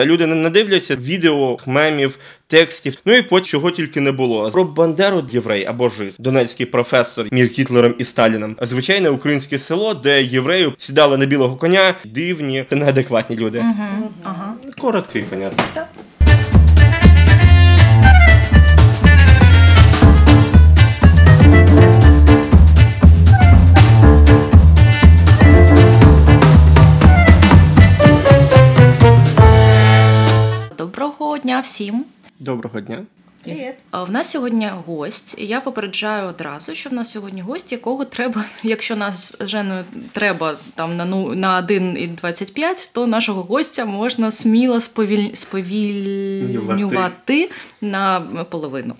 Люди не дивляться відео, мемів, текстів, ну і потім чого тільки не було. Про Бандеру єврей або жид, донецький професор між Гітлером і Сталіном. Звичайне українське село, де євреї сідали на білого коня, дивні та неадекватні люди. Ага. Коротко і понятно. Так. Доброго дня всім. Доброго дня. Привіт. В нас сьогодні гость. Я попереджаю одразу, що в нас сьогодні гость, якого треба, якщо нас з Женою треба там на 1,25, то нашого гостя можна сміло сповільнювати на половину.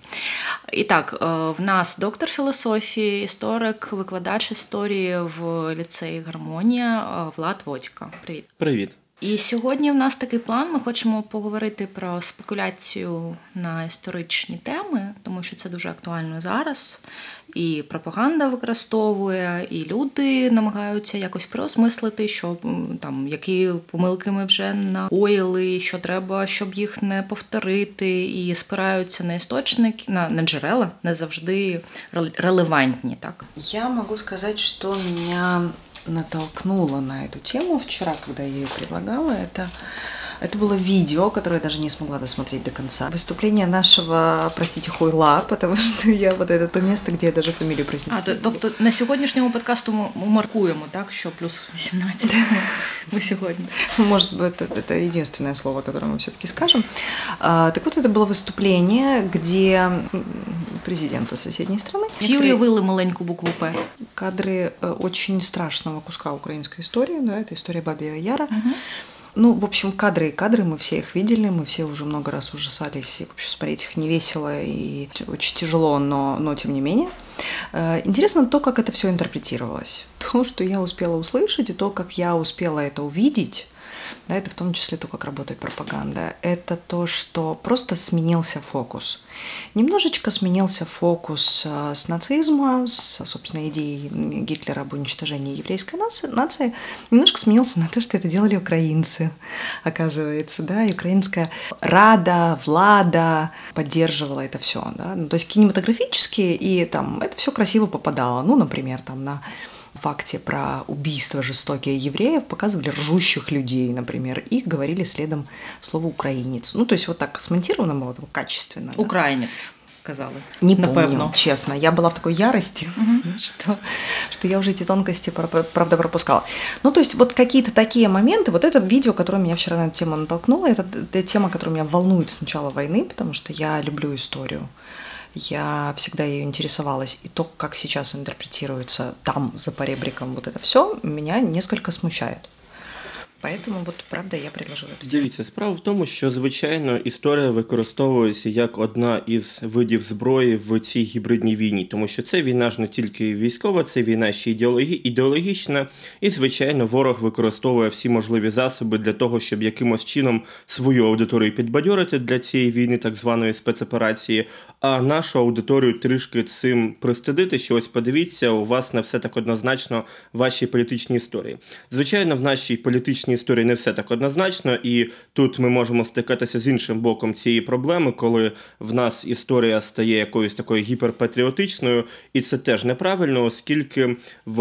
І так, в нас доктор філософії, історик, викладач історії в ліцеї «Гармонія» Влад Водька. Привіт. Привіт. І сьогодні в нас такий план. Ми хочемо поговорити про спекуляцію на історичні теми, тому що це дуже актуально зараз. І пропаганда використовує, і люди намагаються якось переосмислити, що там які помилки ми вже накоїли, що треба, щоб їх не повторити, і спираються на істочники, на джерела, не завжди релевантні, так? Я можу сказати, що мене натолкнуло на эту тему вчера, когда я ее предлагала. Это было видео, которое я даже не смогла досмотреть до конца. Выступление нашего, простите, хуйла, потому что я вот это то место, где я даже фамилию произнесла. Тобто на сьогоднішньому подкасту ми маркуємо, так, що плюс 18 ми сьогодні. Может быть, это единственное слово, которое мы все-таки скажем. Так вот, это было выступление, где президента соседней страны. Всі уявили маленьку букву «П». Кадры очень страшного куска украинской истории, да, это история Бабьего Яра. Ну, в общем, кадры, мы все их видели, мы все уже много раз ужасались, и вообще смотреть их не весело и очень тяжело, но тем не менее. Интересно то, как это все интерпретировалось. То, что я успела услышать, и то, как я успела это увидеть, да, это в том числе то, как работает пропаганда, это то, что просто сменился фокус. Немножечко сменился фокус с нацизма, с, собственно, идеей Гитлера об уничтожении еврейской нации, немножко сменился на то, что это делали украинцы, оказывается, да, и украинская рада, влада поддерживала это все, да, ну, то есть кинематографически, и там это все красиво попадало, ну, например, там на факте про убийство жестокие евреев показывали ржущих людей, например, и говорили следом слово «украинец». Ну, то есть вот так смонтировано было, качественно. Украинец, казали. Не помню, честно. Я была в такой ярости, что я уже эти тонкости, правда, пропускала. Ну, то есть вот какие-то такие моменты, вот это видео, которое меня вчера на эту тему натолкнуло, это тема, которая меня волнует с начала войны, потому что я люблю историю. Я всегда ею интересовалась, и то, как сейчас интерпретируется там, за поребриком, вот это все, меня несколько смущает. Поэтому, вот, правда, я предложила эту тему. Дивіться, справа в тому, що, звичайно, історія використовується як одна із видів зброї в цій гібридній війні, тому що це війна ж не тільки військова, це війна ще ідеологічна, і, звичайно, ворог використовує всі можливі засоби для того, щоб якимось чином свою аудиторію підбадьорити для цієї війни, так званої спецоперації, а нашу аудиторію трішки цим пристидити, що ось подивіться, у вас не все так однозначно в вашій політичній історії. Звичайно, в нашій політичній історії не все так однозначно, і тут ми можемо стикатися з іншим боком цієї проблеми, коли в нас історія стає якоюсь такою гіперпатріотичною, і це теж неправильно, оскільки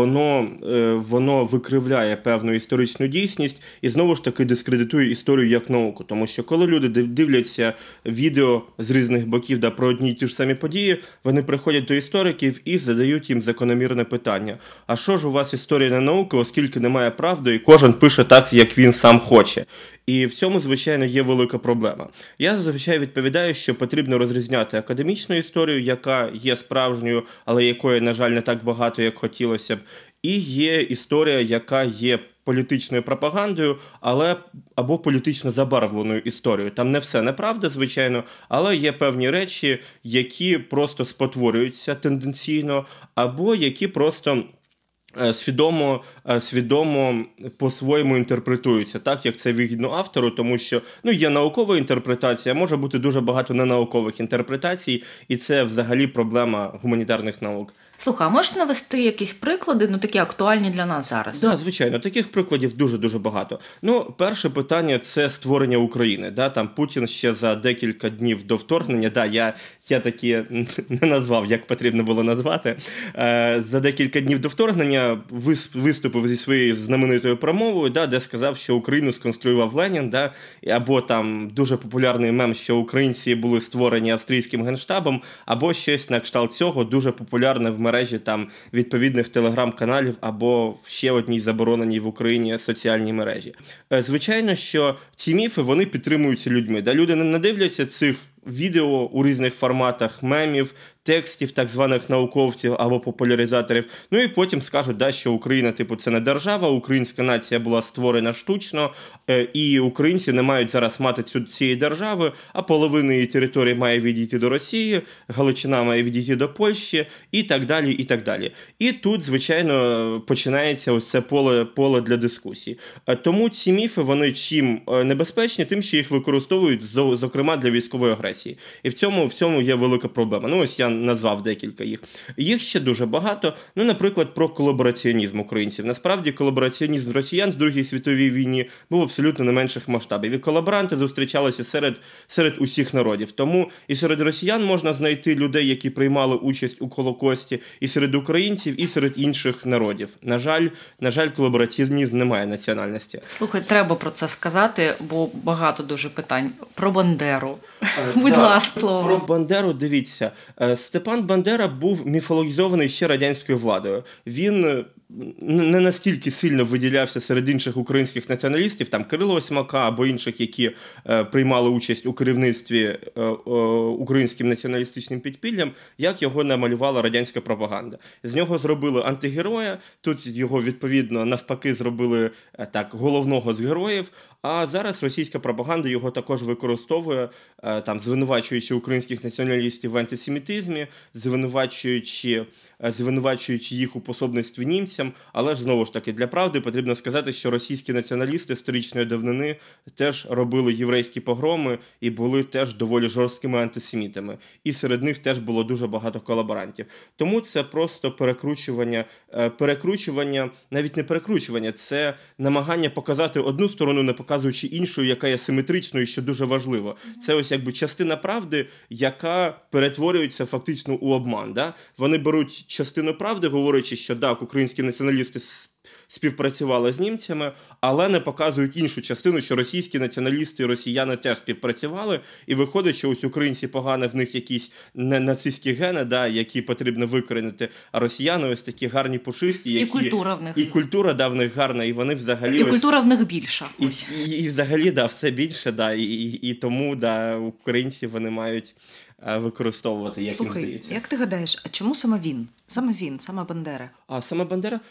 воно викривляє певну історичну дійсність і знову ж таки дискредитує історію як науку. Тому що коли люди дивляться відео з різних боків про одні й ті ж самі події, вони приходять до істориків і задають їм закономірне питання. А що ж у вас історія не наука, оскільки немає правди, і кожен пише так, як він сам хоче. І в цьому, звичайно, є велика проблема. Я зазвичай відповідаю, що потрібно розрізняти академічну історію, яка є справжньою, але якої, на жаль, не так багато, як хотілося б, і є історія, яка є політичною пропагандою, або політично забарвленою історією. Там не все неправда, звичайно, але є певні речі, які просто спотворюються тенденційно, або які просто свідомо по-своєму інтерпретуються, так, як це вигідно автору, тому що є наукова інтерпретація, може бути дуже багато ненаукових інтерпретацій, і це взагалі проблема гуманітарних наук. Слухай, а можеш навести якісь приклади, такі актуальні для нас зараз? Да, звичайно, таких прикладів дуже-дуже багато. Ну, перше питання – це створення України. Да? Там Путін ще за декілька днів до вторгнення, да, я таки не назвав, як потрібно було назвати, за декілька днів до вторгнення виступив зі своєю знаменитою промовою, да, де сказав, що Україну сконструював Ленін, да, або там дуже популярний мем, що українці були створені австрійським генштабом, або щось на кшталт цього, дуже популярне в мережі там відповідних телеграм-каналів або ще одній забороненій в Україні соціальній мережі. Звичайно, що ці міфи, вони підтримуються людьми. Да? Люди не дивляться цих відео у різних форматах, мемів, текстів так званих науковців або популяризаторів. Ну і потім скажуть, да, що Україна, типу, це не держава, українська нація була створена штучно, і українці не мають зараз мати цієї держави, а половина її території має відійти до Росії, Галичина має відійти до Польщі і так далі, і так далі. І тут, звичайно, починається ось це поле для дискусії. Тому ці міфи, вони чим небезпечні, тим, що їх використовують, зокрема, для військової агресії. І в цьому є велика проблема. Ну, ось я назвав декілька їх. Їх ще дуже багато. Ну, наприклад, про колабораціонізм українців. Насправді, колабораціонізм росіян в Другій світовій війні був абсолютно не менших масштабів. І колаборанти зустрічалися серед усіх народів. Тому і серед росіян можна знайти людей, які приймали участь у Холокості, і серед українців, і серед інших народів. На жаль, колабораціонізм не має національності. Слухай, треба про це сказати, бо багато дуже питань. Про Бандеру. Будь ласка, слово. Про Бандеру, дивіться. Степан Бандера був міфологізований ще радянською владою. Він не настільки сильно виділявся серед інших українських націоналістів, там Кирило Осьмака або інших, які приймали участь у керівництві українським націоналістичним підпіллям, як його намалювала радянська пропаганда. З нього зробили антигероя, тут його, відповідно, навпаки зробили головного з героїв, а зараз російська пропаганда його також використовує, там, звинувачуючи українських націоналістів в антисемітизмі, звинувачуючи їх у пособництві німцям, але ж, знову ж таки, для правди потрібно сказати, що російські націоналісти історичної давнини теж робили єврейські погроми і були теж доволі жорсткими антисемітами. І серед них теж було дуже багато колаборантів. Тому це просто перекручування, навіть не перекручування, це намагання показати одну сторону, не показуючи іншу, яка є симетричною, що дуже важливо. Це ось якби частина правди, яка перетворюється фактично у обман. Да? Вони беруть частину правди, говорячи, що так, українські націоналісти співпрацювали з німцями, але не показують іншу частину, що російські націоналісти і росіяни теж співпрацювали, і виходить, що ось українці погані, в них якісь нацистські гени, да, які потрібно викорінити, а росіяни ось такі гарні пушисті, які... І культура в них. І культура, да, в них гарна, і вони взагалі... І культура в них більша. І взагалі, да, все більше, да, і тому, да, українці, вони мають використовувати, як їм здається. Слухай, як ти гадаєш, а чому саме він? Саме Бандера? А саме Бандера?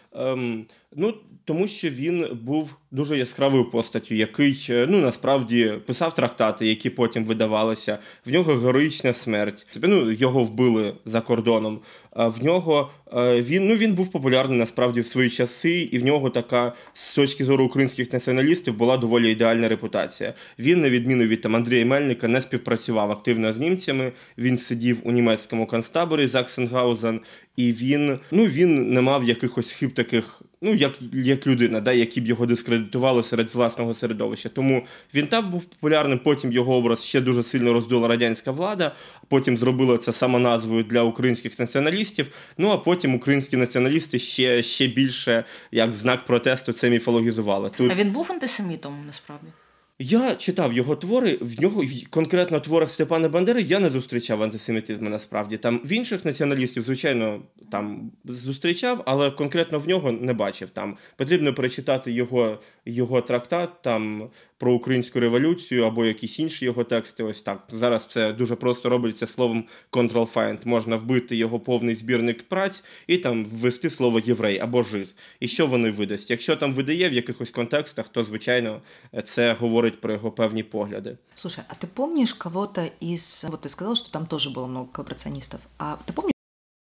Тому що він був дуже яскравою постаттю, який, насправді, писав трактати, які потім видавалися. В нього героїчна смерть. Його вбили за кордоном. В нього він був популярний, насправді, в свої часи, і в нього така, з точки зору українських націоналістів, була доволі ідеальна репутація. Він, на відміну від Андрія Мельника, не співпрацював активно з німцями, він сидів у німецькому концтаборі Заксенгаузен, і він не мав якихось хиб таких, як людина, да, які б його дискредитували серед власного середовища. Тому він там був популярним, потім його образ ще дуже сильно роздула радянська влада, потім зробила це самоназвою для українських націоналістів, а потім українські націоналісти ще більше, як знак протесту, це міфологізували. А він був антисемітом, насправді? Я читав його твори, в нього, конкретно в творах Степана Бандери, я не зустрічав антисемітизму насправді. Там в інших націоналістів, звичайно, там зустрічав, але конкретно в нього не бачив. Там потрібно перечитати його трактат там про українську революцію або якісь інші його тексти. Ось так. Зараз це дуже просто робиться словом Ctrl-Find. Можна вбити його повний збірник праць і там ввести слово єврей або жид. І що вони видасть? Якщо там видає в якихось контекстах, то, звичайно, це говорить про его певні погляды. Слушай, а ты помнишь кого-то из... Вот ты сказал, что там тоже было много коллаборационистов. А ты помнишь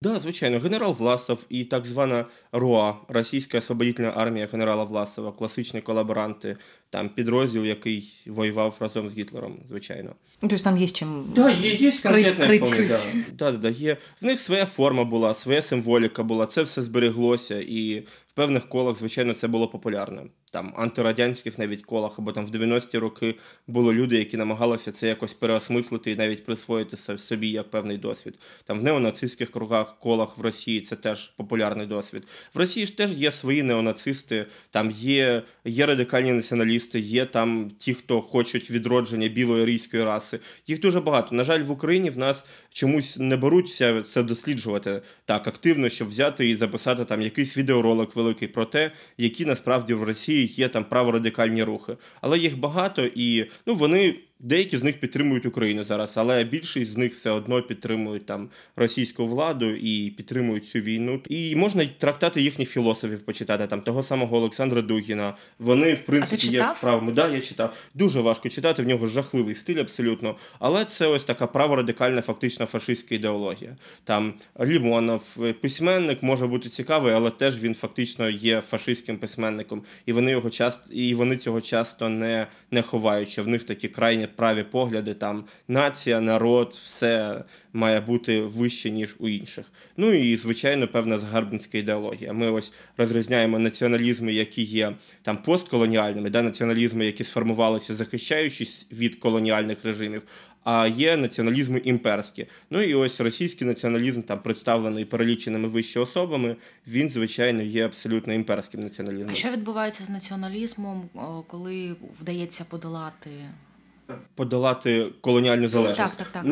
Да, звичайно, генерал Власов і так звана РОА, Російська освободительна армія генерала Власова, класичні колаборанти, там підрозділ, який воював разом з Гітлером, звичайно. Ну, то есть там есть чем Да, є конкретне крыть. вполне, да, є. В них своя форма була, своя символіка була, це все збереглося, і в певних колах, звичайно, це було популярно. Там антирадянських навіть колах, або там в 90-ті роки були люди, які намагалися це якось переосмислити і навіть присвоїти собі як певний досвід. Там в неонацистських кругах, колах в Росії це теж популярний досвід. В Росії ж теж є свої неонацисти, там є радикальні націоналісти, є там ті, хто хочуть відродження білої арійської раси. Їх дуже багато. На жаль, в Україні в нас чомусь не беруться це досліджувати так активно, щоб взяти і записати там якийсь відеоролик великий про те, які насправді в Росії є там праворадикальні рухи. Але їх багато і вони... Деякі з них підтримують Україну зараз, але більшість з них все одно підтримують там російську владу і підтримують цю війну. І можна трактати їхніх філософів почитати, там того самого Олександра Дугіна. Вони, в принципі, є правими. Да, я читав. Дуже важко читати, в нього жахливий стиль абсолютно. Але це ось така праворадикальна, фактично фашистська ідеологія. Там Лімонов, письменник, може бути цікавий, але теж він фактично є фашистським письменником. І вони цього часто не ховають, що в них такі крайні праві погляди, там нація, народ, все має бути вище, ніж у інших. Ну і, звичайно, певна загарбницька ідеологія. Ми ось розрізняємо націоналізми, які є там постколоніальними, націоналізми, які сформувалися, захищаючись від колоніальних режимів, а є націоналізми імперські. Ну і ось російський націоналізм, там представлений переліченими вище особами, він, звичайно, є абсолютно імперським націоналізмом. А що відбувається з націоналізмом, коли вдається подолати колоніальну залежність? Так.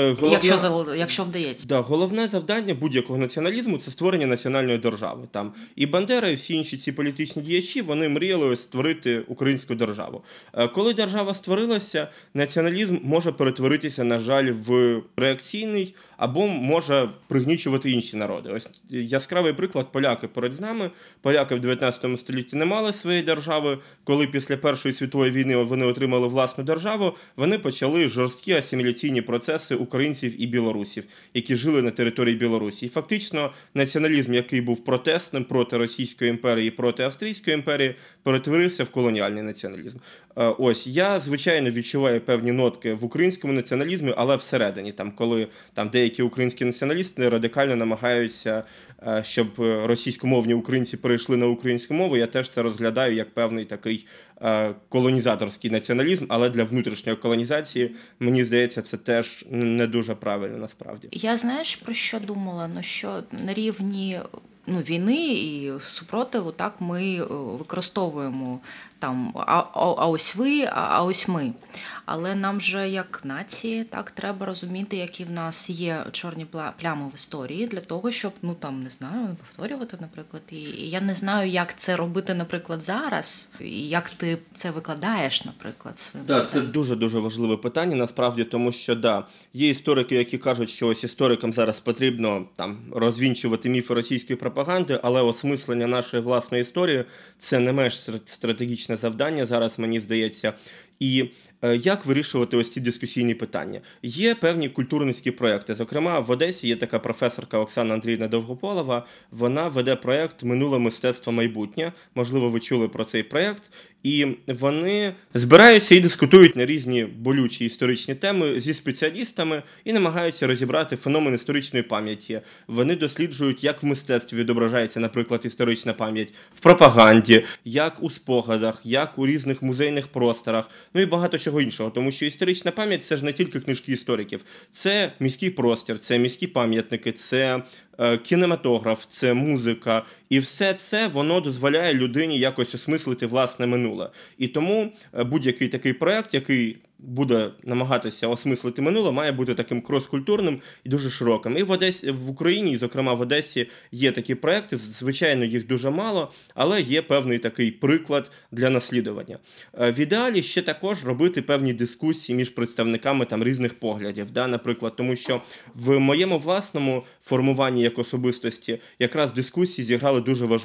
Якщо вдається. Да, головне завдання будь-якого націоналізму – це створення національної держави. Там і Бандера, і всі інші ці політичні діячі, вони мріяли створити українську державу. Коли держава створилася, націоналізм може перетворитися, на жаль, в реакційний або може пригнічувати інші народи. Ось яскравий приклад – поляки перед нами. Поляки в 19 столітті не мали своєї держави. Коли після Першої світової війни вони отримали власну державу, вони почали жорсткі асиміляційні процеси українців і білорусів, які жили на території Білорусі. І фактично націоналізм, який був протестним проти Російської імперії і проти Австрійської імперії, перетворився в колоніальний націоналізм. Ось, я, звичайно, відчуваю певні нотки в українському націоналізмі, але всередині, коли деякі українські націоналісти радикально намагаються, щоб російськомовні українці перейшли на українську мову, я теж це розглядаю як певний такий колонізаторський націоналізм, але для внутрішньої колонізації, мені здається, це теж не дуже правильно насправді. Я, знаєш, про що думала? Що на рівні війни і супротиву, так, ми використовуємо там, а ось ви, а ось ми. Але нам же, як нації, так, треба розуміти, які в нас є чорні плями в історії для того, щоб, не знаю, повторювати, наприклад. І я не знаю, як це робити, наприклад, зараз, і як ти це викладаєш, наприклад, своїм життям. Так, це дуже-дуже важливе питання, насправді, тому що, є історики, які кажуть, що ось історикам зараз потрібно розвінчувати міфи російської пропаганди, але осмислення нашої власної історії – це не менш стратегічне завдання зараз, мені здається. І як вирішувати ось ці дискусійні питання? Є певні культурницькі проєкти. Зокрема, в Одесі є така професорка Оксана Андріївна Довгополова. Вона веде проєкт «Минуле мистецтво майбутнє». Можливо, ви чули про цей проєкт. І вони збираються і дискутують на різні болючі історичні теми зі спеціалістами і намагаються розібрати феномен історичної пам'яті. Вони досліджують, як в мистецтві відображається, наприклад, історична пам'ять, в пропаганді, як у спогадах, як у різних музейних просторах, і багато чого іншого. Тому що історична пам'ять – це ж не тільки книжки істориків. Це міський простір, це міські пам'ятники, це кінематограф, це музика. І все це, воно дозволяє людині якось осмислити власне минуле. І тому будь-який такий проєкт, який буде намагатися осмислити минуле, має бути таким крос-культурним і дуже широким. І в Україні, зокрема в Одесі, є такі проєкти, звичайно, їх дуже мало, але є певний такий приклад для наслідування. В ідеалі ще також робити певні дискусії між представниками різних поглядів, наприклад, тому що в моєму власному формуванні як особистості якраз дискусії зіграли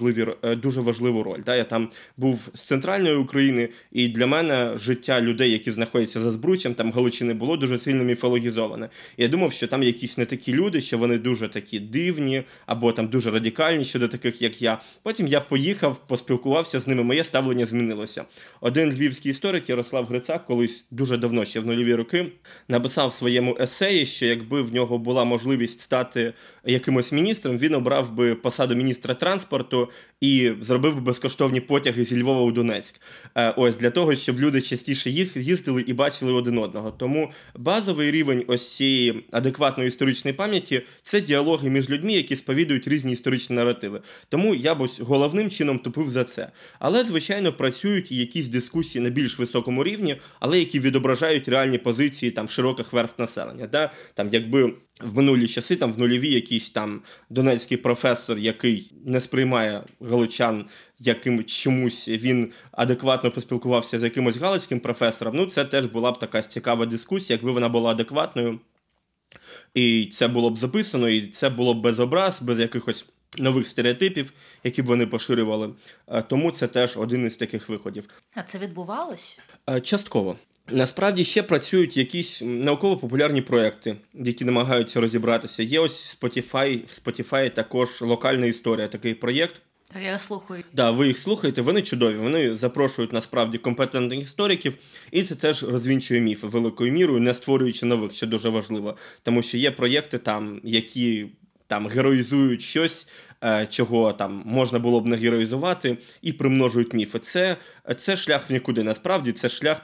дуже важливу роль. Я там був з центральної України, і для мене життя людей, які знаходяться за Збруччям, там Галичини було дуже сильно міфологізоване. І я думав, що там якісь не такі люди, що вони дуже такі дивні, або там дуже радикальні щодо таких, як я. Потім я поїхав, поспілкувався з ними, моє ставлення змінилося. Один львівський історик, Ярослав Грицак, колись дуже давно, ще в нульові роки, написав в своєму есеї, що якби в нього була можливість стати якимось міністром, він обрав би посаду міністра транспорту і зробив би безкоштовні потяги зі Львова у Донецьк. Ось, для того, щоб люди частіше їздили і бачили один одного. Тому базовий рівень ось цієї адекватної історичної пам'яті – це діалоги між людьми, які сповідують різні історичні наративи. Тому я б ось головним чином тупив за це. Але, звичайно, працюють і якісь дискусії на більш високому рівні, але які відображають реальні позиції там широких верств населення. Да? Там, якби в минулі часи, там в нульові якийсь там донецький професор, який не сприймає галичан яким чомусь, він адекватно поспілкувався з якимось галицьким професором, ну це теж була б така цікава дискусія, якби вона була адекватною. І це було б записано, і це було б без образ, без якихось нових стереотипів, які б вони поширювали. Тому це теж один із таких виходів. А це відбувалось? Частково. Насправді ще працюють якісь науково-популярні проекти, які намагаються розібратися. Є ось Spotify, в Spotify також локальна історія, такий проєкт. Так, я слухаю. Да, ви їх слухаєте, вони чудові, вони запрошують насправді компетентних істориків, і це теж розвінчує міфи великою мірою, не створюючи нових, що дуже важливо. Тому що є проєкти там, які там героїзують щось, чого там можна було б не героїзувати, і примножують міфи. Це шлях в нікуди. Насправді це шлях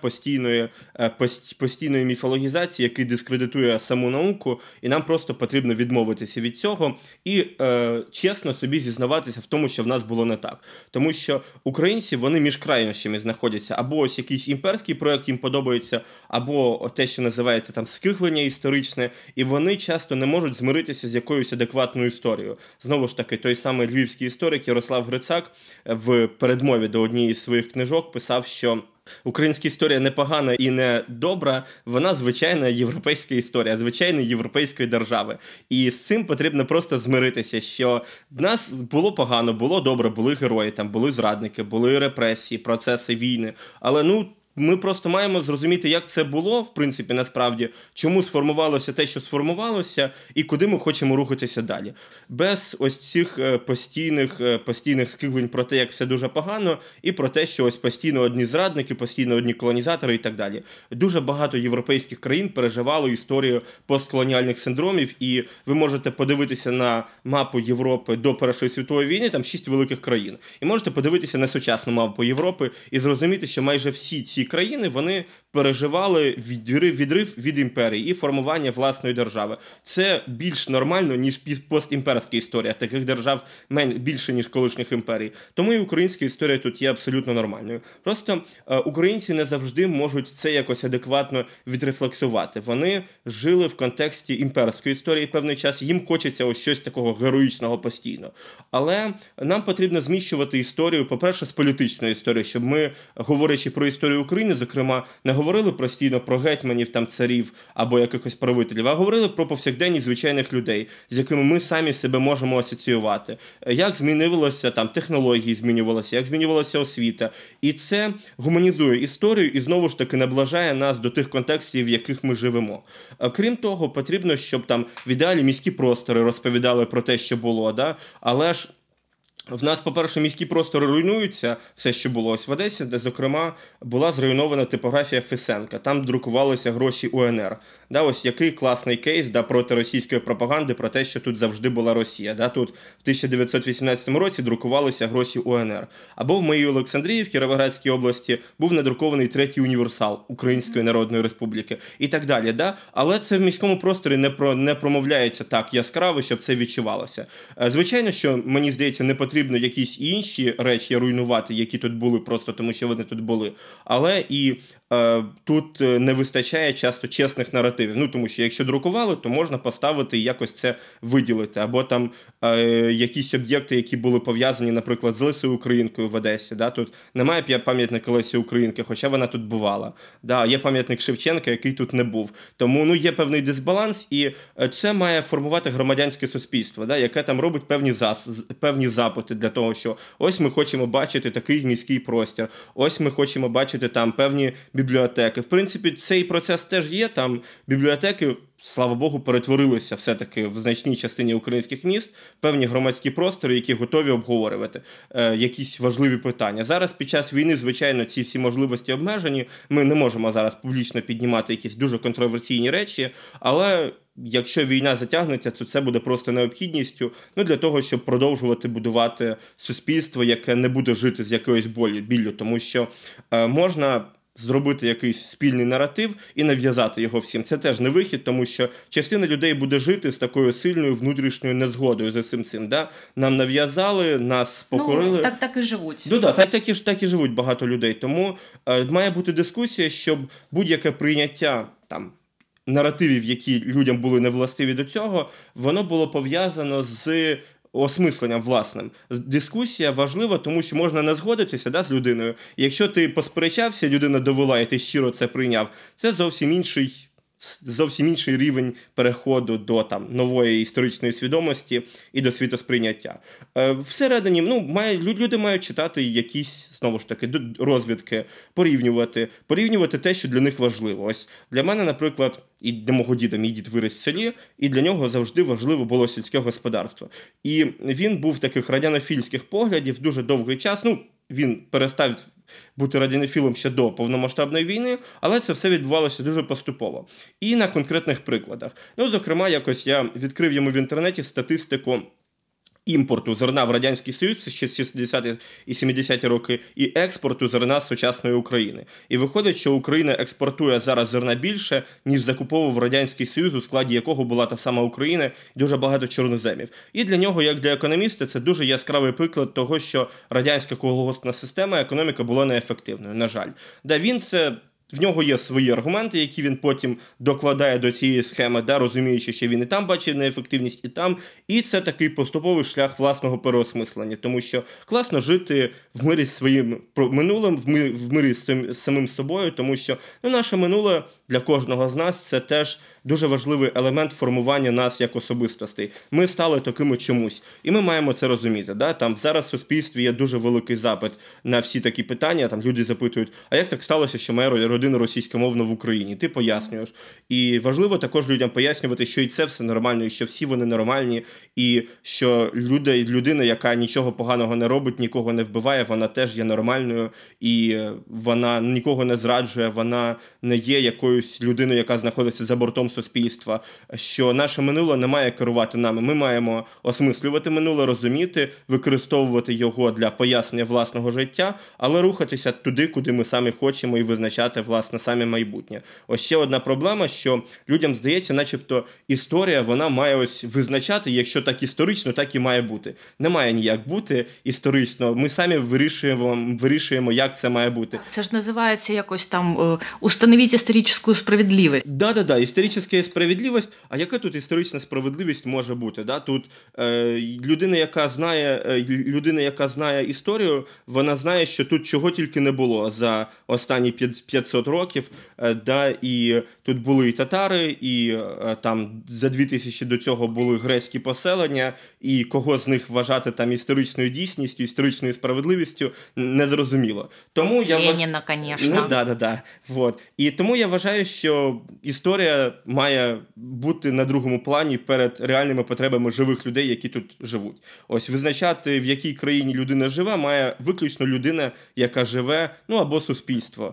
постійної міфологізації, який дискредитує саму науку, і нам просто потрібно відмовитися від цього і чесно собі зізнаватися в тому, що в нас було не так. Тому що українці, вони між крайнощами знаходяться. Або ось якийсь імперський проєкт їм подобається, або те, що називається там скиглення історичне, і вони часто не можуть змиритися з якоюсь адекватною історією. Знову ж таки, той самий львівський історик Ярослав Грицак в передмові до однієї з своїх книжок писав, що українська історія не погана і не добра, вона звичайна європейська історія, звичайної європейської держави. І з цим потрібно просто змиритися, що в нас було погано, було добре, були герої, там були зрадники, були репресії, процеси війни, але ми просто маємо зрозуміти, як це було, в принципі, насправді, чому сформувалося те, що сформувалося, і куди ми хочемо рухатися далі. Без ось цих постійних скиглень про те, як все дуже погано, і про те, що ось постійно одні зрадники, постійно одні колонізатори і так далі. Дуже багато європейських країн переживали історію постколоніальних синдромів, і ви можете подивитися на мапу Європи до Першої світової війни, там 6 великих країн. І можете подивитися на сучасну мапу Європи і зрозуміти, що майже всі ці країни, вони переживали відрив від імперії і формування власної держави. Це більш нормально, ніж постімперська історія. Таких держав більше, ніж колишніх імперій. Тому і українська історія тут є абсолютно нормальною. Просто українці не завжди можуть це якось адекватно відрефлексувати. Вони жили в контексті імперської історії певний час, їм хочеться ось щось такого героїчного постійно. Але нам потрібно зміщувати історію, по-перше, з політичної історії, щоб ми, говорячи про історію України, зокрема, не говорили постійно про гетьманів, там, царів або якихось правителів, а говорили про повсякденність звичайних людей, з якими ми самі себе можемо асоціювати. Як змінилося, там, технології змінювалися, як змінювалася освіта. І це гуманізує історію і, знову ж таки, наближає нас до тих контекстів, в яких ми живемо. Крім того, потрібно, щоб там в ідеалі міські простори розповідали про те, що було, да? Але ж в нас, по-перше, міські простори руйнуються, все, що було ось в Одесі, де, зокрема, була зруйнована типографія Фесенка. Там друкувалися гроші УНР. Да, ось який класний кейс проти російської пропаганди про те, що тут завжди була Росія. Да, тут в 1918 році друкувалися гроші УНР. Або в моїй Олександрії, в Кіровоградській області, був надрукований третій універсал Української Народної Республіки. І так далі. Да? Але це в міському просторі не промовляється так яскраво, щоб це відчувалося. Звичайно, що, мені здається, не потрібно якісь інші речі руйнувати, які тут були просто тому, що вони тут були. Але і тут не вистачає часто чесних наративів. Тому що якщо друкували, то можна поставити і якось це виділити. Або там якісь об'єкти, які були пов'язані, наприклад, з Лесею Українкою в Одесі. Да? Тут немає пам'ятника Лесі Українки, хоча вона тут бувала. Да? Є пам'ятник Шевченка, який тут не був. Тому є певний дисбаланс, і це має формувати громадянське суспільство, да? Яке там робить певні запити для того, що ось ми хочемо бачити такий міський простір, ось ми хочемо бачити там певні бібліотеки. В принципі, цей процес теж є, там бібліотеки, слава Богу, перетворилися все-таки в значній частині українських міст, певні громадські простори, які готові обговорювати якісь важливі питання. Зараз під час війни, звичайно, ці всі можливості обмежені, ми не можемо зараз публічно піднімати якісь дуже контроверсійні речі, але якщо війна затягнеться, то це буде просто необхідністю для того, щоб продовжувати будувати суспільство, яке не буде жити з якоюсь біллю, тому що можна зробити якийсь спільний наратив і нав'язати його всім. Це теж не вихід, тому що частина людей буде жити з такою сильною внутрішньою незгодою за цим. Да? Нам нав'язали, нас покорили. Так і живуть. Так і живуть багато людей. Тому має бути дискусія, щоб будь-яке прийняття наративів, які людям були невластиві до цього, воно було пов'язано з осмисленням власним. Дискусія важлива, тому що можна не згодитися з людиною. І якщо ти посперечався, людина довела, і ти щиро це прийняв, це зовсім інший рівень переходу до нової історичної свідомості і до світосприйняття. Всередині, люди мають читати якісь, знову ж таки, розвідки, порівнювати те, що для них важливо. Ось для мене, наприклад, і для мого діда, мій дід виріс в селі, і для нього завжди важливо було сільське господарство. І він був таких радянофільських поглядів дуже довгий час. Він перестав бути радянофілом ще до повномасштабної війни, але це все відбувалося дуже поступово. І на конкретних прикладах. Зокрема, якось я відкрив йому в інтернеті статистику імпорту зерна в Радянський Союз ще з 60-ті і 70-ті роки і експорту зерна з сучасної України. І виходить, що Україна експортує зараз зерна більше, ніж закуповував Радянський Союз, у складі якого була та сама Україна, дуже багато чорноземів. І для нього, як для економіста, це дуже яскравий приклад того, що радянська колгоспна система, економіка була неефективною, на жаль. В нього є свої аргументи, які він потім докладає до цієї схеми, розуміючи, що він і там бачив неефективність, і там. І це такий поступовий шлях власного переосмислення. Тому що класно жити в мирі з своїм минулим, в мирі з самим собою, тому що наше минуле для кожного з нас – це теж дуже важливий елемент формування нас як особистостей. Ми стали такими чомусь. І ми маємо це розуміти. Зараз в суспільстві є дуже великий запит на всі такі питання. Люди запитують, а як так сталося, що моя родина російськомовна в Україні? Ти пояснюєш. І важливо також людям пояснювати, що і це все нормально, і що всі вони нормальні, і що людина, яка нічого поганого не робить, нікого не вбиває, вона теж є нормальною, і вона нікого не зраджує, вона не є якоюсь людиною, яка знаходиться за бортом суспільства, що наше минуле не має керувати нами. Ми маємо осмислювати минуле, розуміти, використовувати його для пояснення власного життя, але рухатися туди, куди ми самі хочемо, і визначати, власне, самі майбутнє. Ось ще одна проблема, що людям здається, начебто історія, вона має ось визначати, якщо так історично, так і має бути. Не має ніяк бути історично. Ми самі вирішуємо, як це має бути. Це ж називається якось «установіть історичну справедливість». Да, історична справедливість. А яка тут історична справедливість може бути? Тут людина, яка знає історію, вона знає, що тут чого тільки не було за останні 500 років. І тут були і татари, і там за 2000 до цього були грецькі поселення, і кого з них вважати історичною дійсністю, історичною справедливістю, незрозуміло. Тому Леніна, звісно. Да. І тому я вважаю, що історія має бути на другому плані перед реальними потребами живих людей, які тут живуть. Ось визначати, в якій країні людина живе, має виключно людина, яка живе, або суспільство.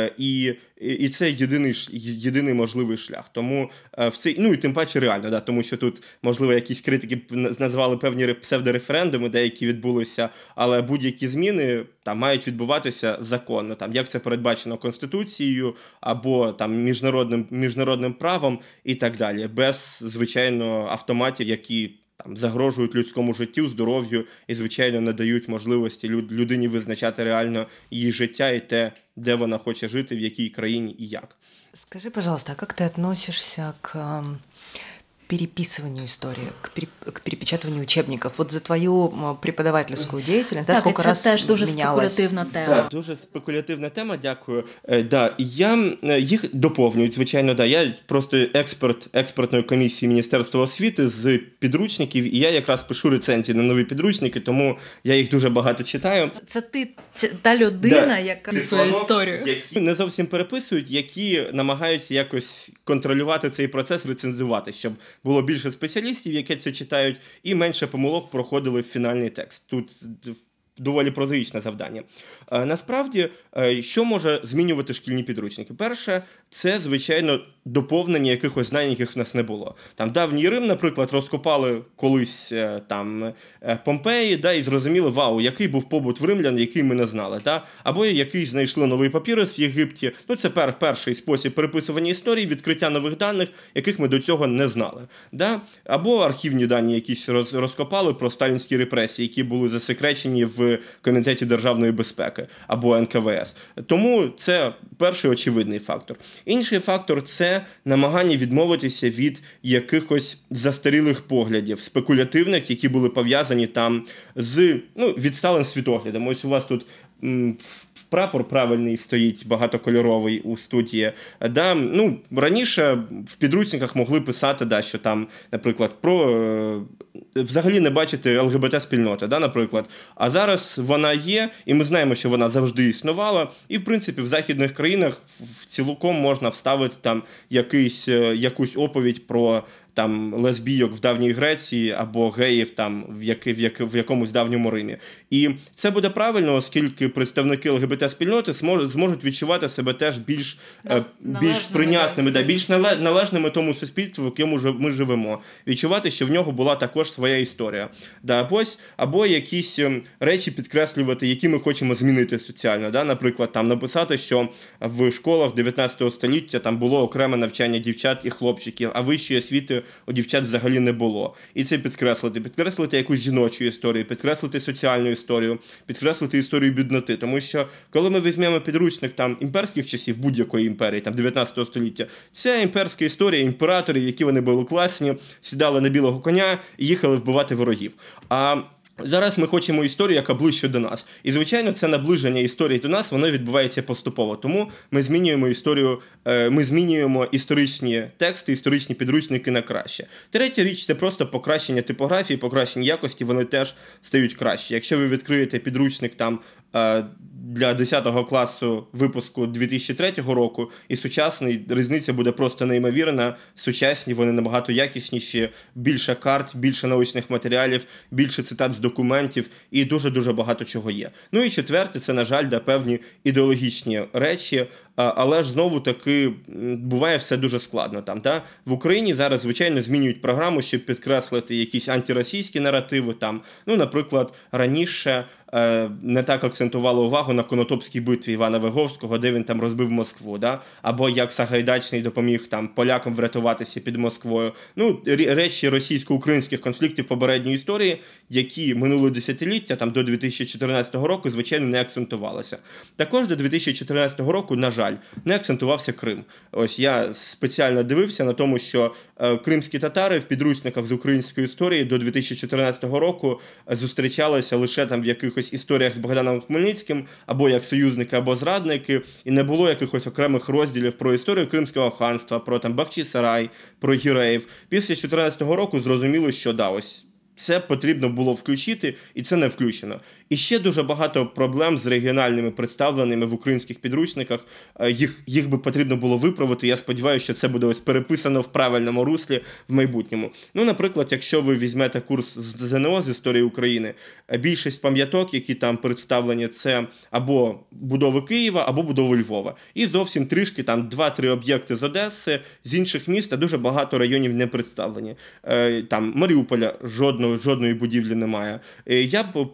І це єдиний можливий шлях. Тому і тим паче реально, тому що тут, можливо, якісь критики назвали певні псевдореферендуми, деякі відбулися, але будь-які зміни мають відбуватися законно, як це передбачено Конституцією або міжнародним правом і так далі, без, звичайно, автоматів, які загрожують людському життю, здоров'ю і, звичайно, не дають можливості людині визначати реально її життя і те, де вона хоче жити, в якій країні і як. Скажи, пожалуйста, а как ты относишься к переписыванию истории, к перепечатыванию учебников? Вот за твою преподавательскую деятельность, да, сколько раз це теж дуже менялось? спекулятивна тема. Так, дуже спекулятивна тема, дякую. Да, я їх доповнюють, звичайно, да. Я просто експерт експертної комісії Міністерства освіти з підручників, і я якраз пишу рецензії на нові підручники, тому я їх дуже багато читаю. Це ти та людина, яка писує історію. Які не зовсім переписують, які намагаються якось контролювати цей процес, рецензувати, щоб було більше спеціалістів, які це читають, і менше помилок проходили в фінальний текст. Тут доволі прозаїчне завдання. Насправді, що може змінювати шкільні підручники? Перше, це, звичайно, доповнення якихось знань, яких в нас не було. Там давній Рим, наприклад, розкопали колись там Помпеї, да, і зрозуміли, вау, який був побут в римлян, який ми не знали. Да? Або який знайшли новий папірус в Єгипті. Ну, це перший спосіб переписування історії, відкриття нових даних, яких ми до цього не знали. Да? Або архівні дані якісь розкопали про сталінські репресії, які були засекречені в Комітеті державної безпеки або НКВС. Тому це перший очевидний фактор. Інший фактор – це намагання відмовитися від якихось застарілих поглядів, спекулятивних, які були пов'язані там з відсталим світоглядом. Ось у вас тут прапор правильний стоїть, багатокольоровий у студії. Да, раніше в підручниках могли писати, да, що там, наприклад, про взагалі не бачити ЛГБТ-спільноти, да, наприклад. А зараз вона є, і ми знаємо, що вона завжди існувала. І, в принципі, в західних країнах цілком можна вставити там якусь оповідь про там лесбійок в давній Греції або геїв там в якомусь давньому Римі. І це буде правильно, оскільки представники ЛГБТ-спільноти зможуть відчувати себе теж більш прийнятними, більш належними тому суспільству, в якому ми живемо. Відчувати, що в нього була також своя історія. Да, або якісь речі підкреслювати, які ми хочемо змінити соціально. Да? Наприклад, там написати, що в школах 19 століття там було окреме навчання дівчат і хлопчиків, а вищої освіти у дівчат взагалі не було. І це підкреслити якусь жіночу історію, підкреслити соціальну історію, підкреслити історію бідноти. Тому що, коли ми візьмемо підручник там імперських часів, будь-якої імперії, там 19 століття, це імперська історія імператорів, які вони були класні, сідали на білого коня і їхали вбивати ворогів. А зараз ми хочемо історію, яка ближче до нас. І, звичайно, це наближення історії до нас, воно відбувається поступово. Тому ми змінюємо історію, ми змінюємо історичні тексти, історичні підручники на краще. Третя річ – це просто покращення типографії, покращення якості, вони теж стають краще. Якщо ви відкриєте підручник там для 10 класу випуску 2003 року і сучасний, різниця буде просто неймовірна. Сучасні, вони набагато якісніші, більше карт, більше научних матеріалів, більше цитат з документів і дуже-дуже багато чого є. Ну і четверте, це, на жаль, певні ідеологічні речі, але ж знову-таки буває все дуже складно там. Да? В Україні зараз, звичайно, змінюють програму, щоб підкреслити якісь антиросійські наративи. Там. Наприклад, раніше не так акцентували увагу на Конотопській битві Івана Виговського, де він там розбив Москву, да? Або як Сагайдачний допоміг там полякам врятуватися під Москвою. Речі російсько-українських конфліктів попередньої історії, які минуло десятиліття, там до 2014 року, звичайно, не акцентувалися. Також до 2014 року, на жаль, не акцентувався Крим. Ось я спеціально дивився на тому, що кримські татари в підручниках з української історії до 2014 року зустрічалися лише там в якихось історіях з Богданом Хмельницьким, або як союзники, або зрадники, і не було якихось окремих розділів про історію Кримського ханства, про там Бахчисарай, про гіреїв. Після 2014 року зрозуміло, що ось це потрібно було включити, і це не включено. І ще дуже багато проблем з регіональними представленими в українських підручниках. Їх би потрібно було виправити. Я сподіваюся, що це буде ось переписано в правильному руслі в майбутньому. Наприклад, якщо ви візьмете курс з ЗНО, з історії України, більшість пам'яток, які там представлені, це або будови Києва, або будови Львова. І зовсім трішки там 2-3 об'єкти з Одеси, з інших міст, а дуже багато районів не представлені. Там Маріуполя жодної будівлі немає. Я б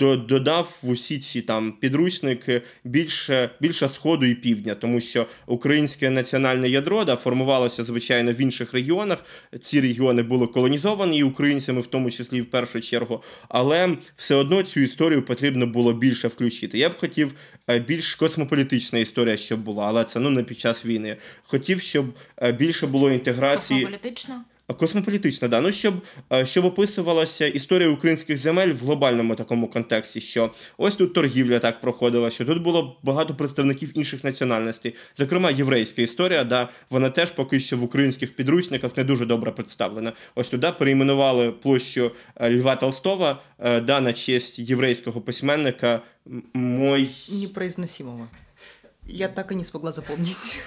додав в усі ці там підручники більше Сходу і Півдня, тому що українське національне ядро формувалося, звичайно, в інших регіонах. Ці регіони були колонізовані українцями, в тому числі в першу чергу, але все одно цю історію потрібно було більше включити. Я б хотів більш космополітична історія, щоб була, але це не під час війни. Хотів, щоб більше було інтеграції. Космополітична? Космополітична, да. Ну, щоб описувалася історія українських земель в глобальному такому контексті, що ось тут торгівля так проходила, що тут було багато представників інших національностей. Зокрема, єврейська історія, да, вона теж поки що в українських підручниках не дуже добре представлена. Ось туди перейменували площу Льва Толстого, да, на честь єврейського письменника Непроизносимого. Я так и не смогла запомнить.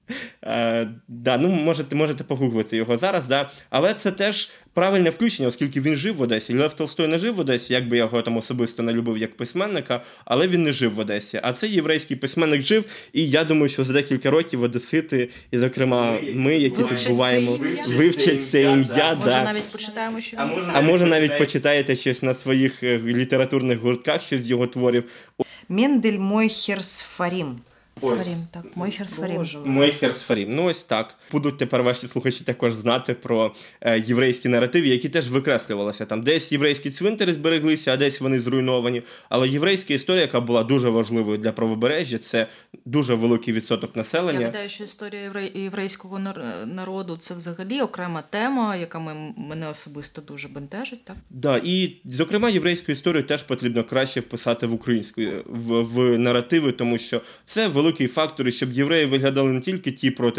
Да, ну можете погуглити його зараз, да. Але це теж правильне включення, оскільки він жив в Одесі. Лев Толстой не жив в Одесі, як би я його там особисто не любив як письменника, але він не жив в Одесі. А цей єврейський письменник жив, і я думаю, що за декілька років одесити, і, зокрема, ми, які тут буваємо, вивчать це ім'я. Може, навіть почитаємо, що він писав. А може, навіть почитаєте щось на своїх літературних гуртках, щось з його творів. Мендель Мойхер Сфарім. Сфарім, так, Мойхер Сфарім. Мойхер Сфарім. Ну ось так. Будуть тепер ваші слухачі також знати про єврейські наративи, які теж викреслювалися. Там десь єврейські цвинтари збереглися, а десь вони зруйновані. Але єврейська історія, яка була дуже важливою для правобережжя, це дуже великий відсоток населення. Я гадаю, що історія єврейського народу – це взагалі окрема тема, яка мене особисто дуже бентежить. Так? Да, і, зокрема, єврейську історію теж потрібно краще вписати в українську, в наративи, тому що це великий фактор, щоб євреї виглядали не тільки ті, проти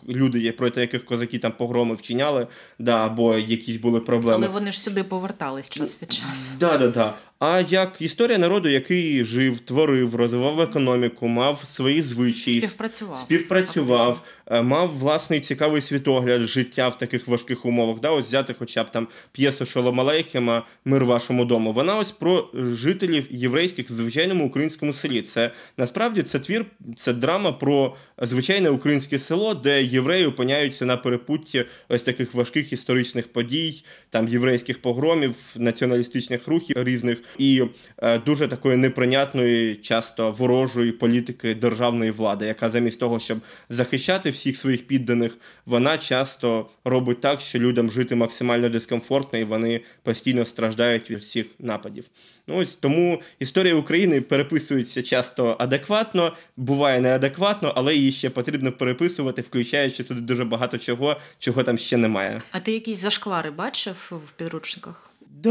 яких козаки там погроми вчиняли, да, або якісь були проблеми. Але вони ж сюди повертались час від часу. Да. А як історія народу, який жив, творив, розвивав економіку, мав свої звичаї, співпрацював, мав власний цікавий світогляд життя в таких важких умовах. Да, ось взяти хоча б там п'єсу Шолом Алейхема «Мир вашому дому». Вона ось про жителів єврейських в звичайному українському селі. Це насправді це твір, це драма про звичайне українське село, де євреї опиняються на перепутті ось таких важких історичних подій, там єврейських погромів, націоналістичних рухів різних і дуже такої неприйнятної, часто ворожої політики державної влади, яка замість того, щоб захищати всіх своїх підданих, вона часто робить так, що людям жити максимально дискомфортно і вони постійно страждають від всіх нападів. Ну, ось тому історія України переписується часто адекватно, буває неадекватно, але її ще потрібно переписувати, включаючи туди дуже багато чого там ще немає. А ти якісь зашквари бачив в підручниках?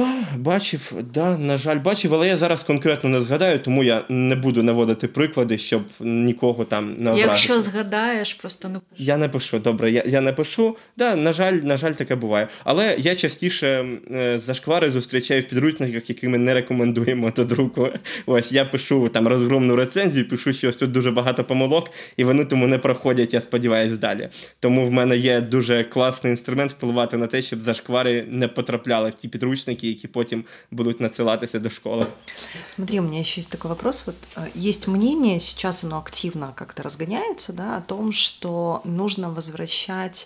На жаль, бачив, але я зараз конкретно не згадаю, тому я не буду наводити приклади, щоб нікого там не образити. Якщо згадаєш, просто не пишу. Я не пишу, добре, я не пишу. Да, на жаль, таке буває. Але я частіше зашквари зустрічаю в підручниках, які ми не рекомендуємо до друку. Ось, я пишу там розгромну рецензію, пишу, що ось тут дуже багато помилок, і вони тому не проходять, я сподіваюся, далі. Тому в мене є дуже класний інструмент впливати на те, щоб зашквари не потрапляли в ті підручники, які потім будут надсылаться до школы. Смотри, у меня еще есть такой вопрос. Вот есть мнение, сейчас оно активно как-то разгоняется, да, о том, что нужно возвращать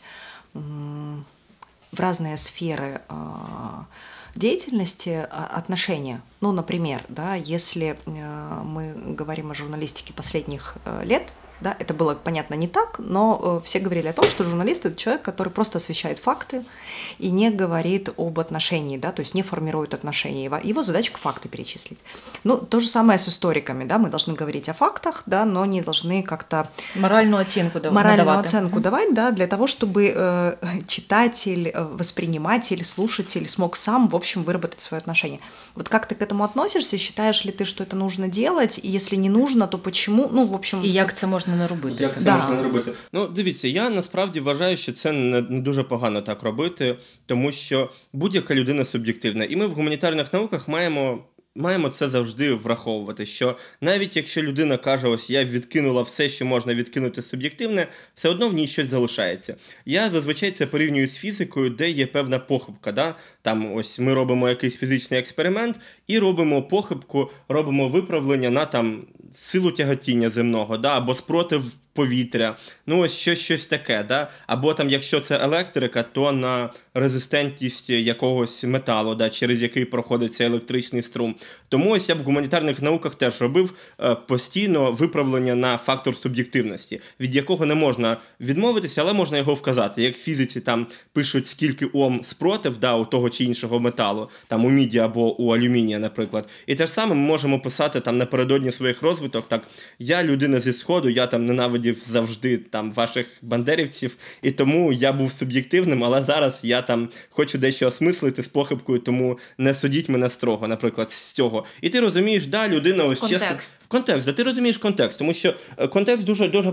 в разные сферы деятельности отношения. Ну, например, да, если мы говорим о журналистике последних лет, да, это было, понятно, не так, но все говорили о том, что журналист – это человек, который просто освещает факты и не говорит об отношении, да, то есть не формирует отношения. Его задачка – факты перечислить. Ну, то же самое с историками, да, мы должны говорить о фактах, да, но не должны как-то… Моральную оценку давать, да, для того, чтобы читатель, восприниматель, слушатель смог сам, в общем, выработать свое отношение. Вот как ты к этому относишься? Считаешь ли ты, что это нужно делать? И если не нужно, то почему? Ну, в общем… И як це можна не робити? Як це можна не робити? Ну, дивіться, я насправді вважаю, що це не дуже погано так робити, тому що будь-яка людина суб'єктивна. І ми в гуманітарних науках маємо це завжди враховувати, що навіть якщо людина каже, ось я відкинула все, що можна відкинути суб'єктивне, все одно в ній щось залишається. Я зазвичай це порівнюю з фізикою, де є певна похибка. Да? Там ось ми робимо якийсь фізичний експеримент і робимо похибку, робимо виправлення на там силу тяготіння земного, да? Або спротив повітря, ну ось щось таке, да? Або там, якщо це електрика, то на резистентність якогось металу, да? Через який проходить цей електричний струм. Тому ось я в гуманітарних науках теж робив постійно виправлення на фактор суб'єктивності, від якого не можна відмовитися, але можна його вказати. Як в фізиці там пишуть, скільки Ом спротив, да, у того чи іншого металу, там у міді або у алюмінія, наприклад. І те ж саме ми можемо писати там напередодні своїх розвиток, так, я людина зі Сходу, я там ненавидів ненавидів завжди там ваших бандерівців, і тому я був суб'єктивним, але зараз я там хочу дещо осмислити з похибкою, тому не судіть мене строго, наприклад, з цього. І ти розумієш, да, людина ось Контекст. чесно... Контекст, да, ти розумієш контекст, тому що контекст дуже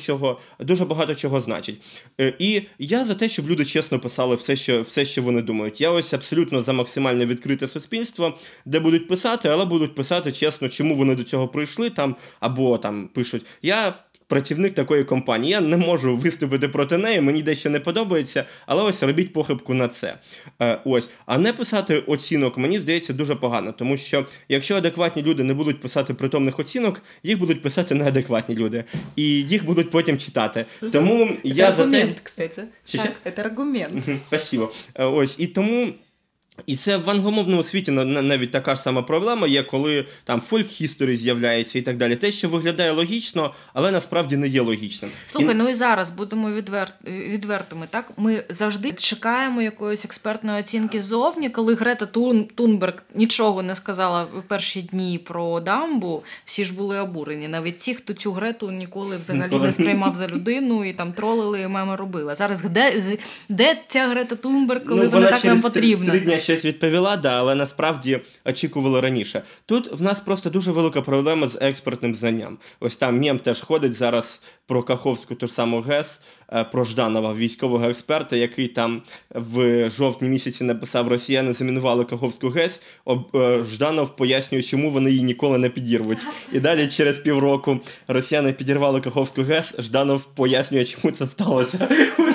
багато чого значить. І я за те, щоб люди чесно писали все, що вони думають. Я ось абсолютно за максимально відкрите суспільство, де будуть писати, але будуть писати чесно, чому вони до цього прийшли, там, або там пишуть, я працівник такої компанії, я не можу виступити проти неї, мені дещо не подобається, але ось робіть похибку на це. Ось. А не писати оцінок, мені здається, дуже погано, тому що якщо адекватні люди не будуть писати притомних оцінок, їх будуть писати неадекватні люди, і їх будуть потім читати. Тому я за те... аргумент, кстати. Так, це аргумент. Спасибо. Ось, і тому... І це в англомовному світі навіть така ж сама проблема є, коли там фольк-хісторі з'являється і так далі. Те, що виглядає логічно, але насправді не є логічним. Слухай, ну і зараз будемо відвертими, так? Ми завжди чекаємо якоїсь експертної оцінки ззовні, коли Грета Тунберг нічого не сказала в перші дні про дамбу, всі ж були обурені. Навіть ті, хто цю Грету ніколи взагалі не сприймав за людину і там тролили і меми робили. Зараз де ця Грета Тунберг, коли вона так нам потрібна? 3 дні щось відповіла, да, але насправді очікували раніше. Тут в нас просто дуже велика проблема з експертним знанням. Ось там мем теж ходить зараз про Каховську, ту ж саму ГЕС, про Жданова, військового експерта, який там в жовтні місяці написав: росіяни замінували Каховську ГЕС, Жданов пояснює, чому вони її ніколи не підірвуть. І далі через півроку росіяни підірвали Каховську ГЕС, Жданов пояснює, чому це сталося.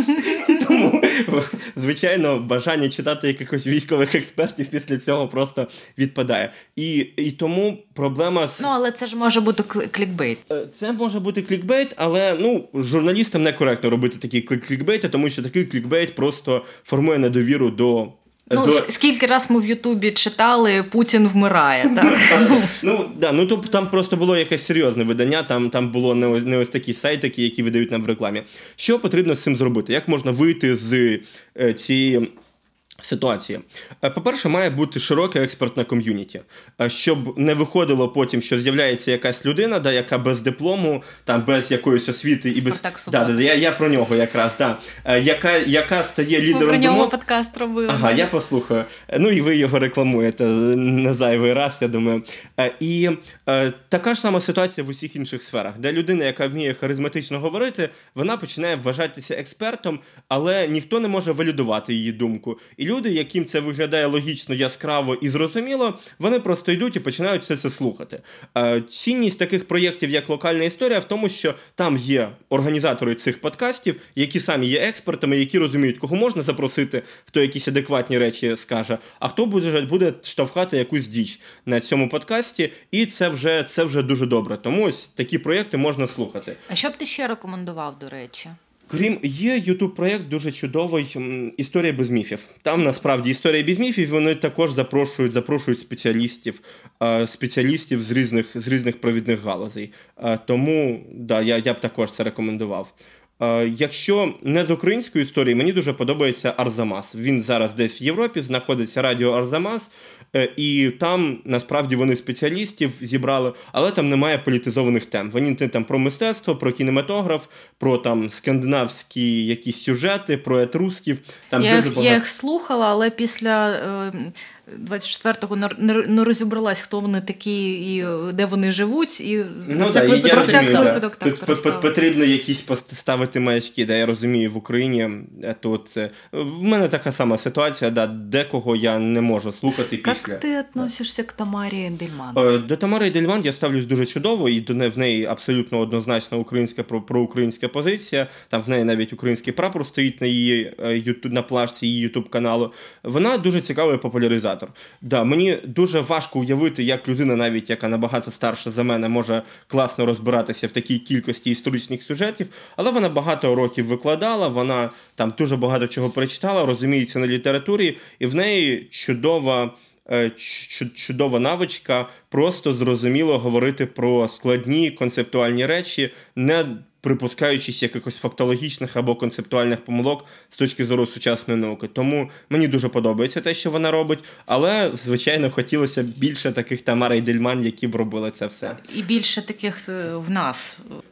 Тому, звичайно, бажання читати якихось військових експертів після цього просто відпадає. І тому проблема з... Ну, але це ж може бути клікбейт. Це може бути клікбейт, але журналістам некоректно робити такі клікбейти, тому що такий клікбейт просто формує недовіру до... Скільки раз ми в Ютубі читали «Путін вмирає», так? Там просто було якесь серйозне видання, там було не ось такі сайтики, які видають нам в рекламі. Що потрібно з цим зробити? Як можна вийти з цієї ситуації? По-перше, має бути широке експертне ком'юніті, щоб не виходило потім, що з'являється якась людина, яка без диплому, там, без якоїсь освіти і без... Я про нього якраз, яка стає лідером... Ми про нього подкаст робили. Ага, я послухаю. Ну і ви його рекламуєте не зайвий раз, я думаю. І така ж сама ситуація в усіх інших сферах, де людина, яка вміє харизматично говорити, вона починає вважатися експертом, але ніхто не може валідувати її думку. І люди, яким це виглядає логічно, яскраво і зрозуміло, вони просто йдуть і починають все це слухати. Цінність таких проєктів, як «Локальна історія», в тому, що там є організатори цих подкастів, які самі є експертами, які розуміють, кого можна запросити, хто якісь адекватні речі скаже, а хто буде штовхати якусь діч на цьому подкасті, і це вже дуже добре. Тому ось такі проєкти можна слухати. А що б ти ще рекомендував, до речі? Є YouTube-проєкт дуже чудовий «Історія без міфів». Там, насправді, «Історія без міфів», вони також запрошують спеціалістів з різних провідних галузей. Тому, я б також це рекомендував. Якщо не з української історії, мені дуже подобається Арзамас. Він зараз десь в Європі, знаходиться радіо Арзамас, і там, насправді, вони спеціалістів зібрали, але там немає політизованих тем. Вони там про мистецтво, про кінематограф, про там скандинавські якісь сюжети, про етрусків. Там я їх слухала, але після 24-го не розібралась, хто вони такі і де вони живуть, і про всяк випадок так перестала. Потрібно якісь поставити маячки, я розумію, в Україні тут в мене така сама ситуація, декого я не можу слухати після. Як ти відносишся к Тамарі Ендельман? До Тамари Ендельман я ставлюсь дуже чудово, і в неї абсолютно однозначно українська проукраїнська позиція, там в неї навіть український прапор стоїть на плашці її ютуб-каналу. Вона дуже цікавий популяризатор. Мені дуже важко уявити, як людина, навіть яка набагато старша за мене, може класно розбиратися в такій кількості історичних сюжетів, але вона багато років викладала, вона там дуже багато чого прочитала, розуміється на літературі, і в неї чудова навичка просто зрозуміло говорити про складні концептуальні речі, не припускаючись якихось фактологічних або концептуальних помилок з точки зору сучасної науки. Тому мені дуже подобається те, що вона робить, але, звичайно, хотілося більше таких Тамар Ендельман, які б робили це все. І більше таких в нас.